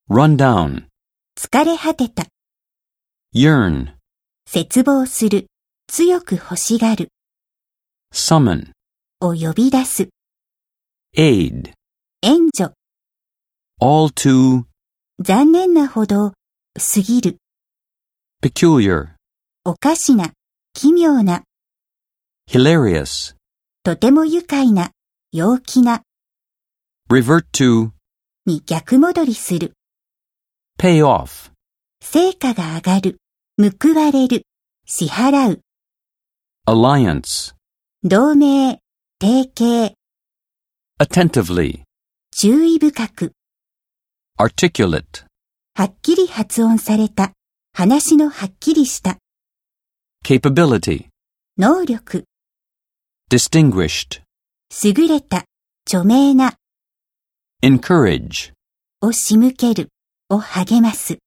run down, 疲れ果てた、 yearn, 切望する、強く欲しがる、 summon, を呼び出す、 aid, 援助、 all too, 残念なほど、過ぎる、 peculiar, おかしな、奇妙な、 hilarious, とても愉快な、陽気な、 revert to, に逆戻りする、 pay off, 成果が上がる、報われる、支払う、 alliance, 同盟、提携、 attentively, 注意深く、 articulate, はっきり発音された、話のはっきりした、 capability, 能力、 distinguished, 優れた、著名な、 encourage, を仕向ける、を励ます。